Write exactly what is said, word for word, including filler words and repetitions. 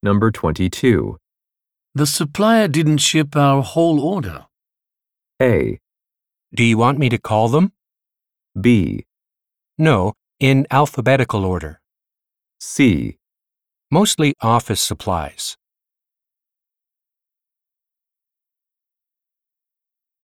Number twenty-two. The supplier didn't ship our whole order. A. Do you want me to call them? B. No, in alphabetical order. C. Mostly office supplies.